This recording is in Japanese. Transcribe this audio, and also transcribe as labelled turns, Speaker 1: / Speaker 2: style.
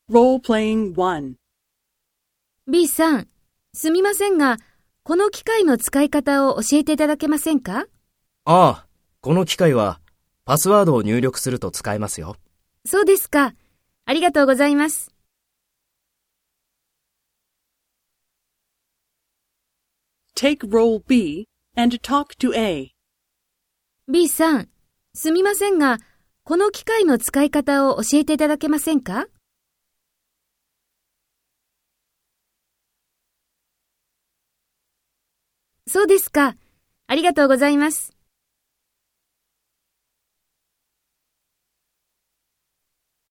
Speaker 1: B さん、すみませんが、この機械の使い方を教えていただけませんか？
Speaker 2: ああ、この機械はパスワードを入力すると使えますよ。
Speaker 1: そうですか。ありがとうございます。
Speaker 3: Take role B and talk to A.
Speaker 1: B さん、すみませんが、この機械の使い方を教えていただけませんか？そうですか。ありがとうございます。